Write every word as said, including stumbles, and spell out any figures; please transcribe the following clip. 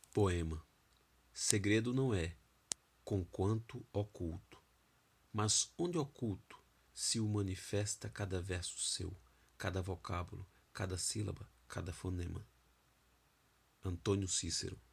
Poema. Segredo não é, conquanto oculto, mas onde oculto se o manifesta cada verso seu, cada vocábulo, cada sílaba, cada fonema. Antônio Cícero.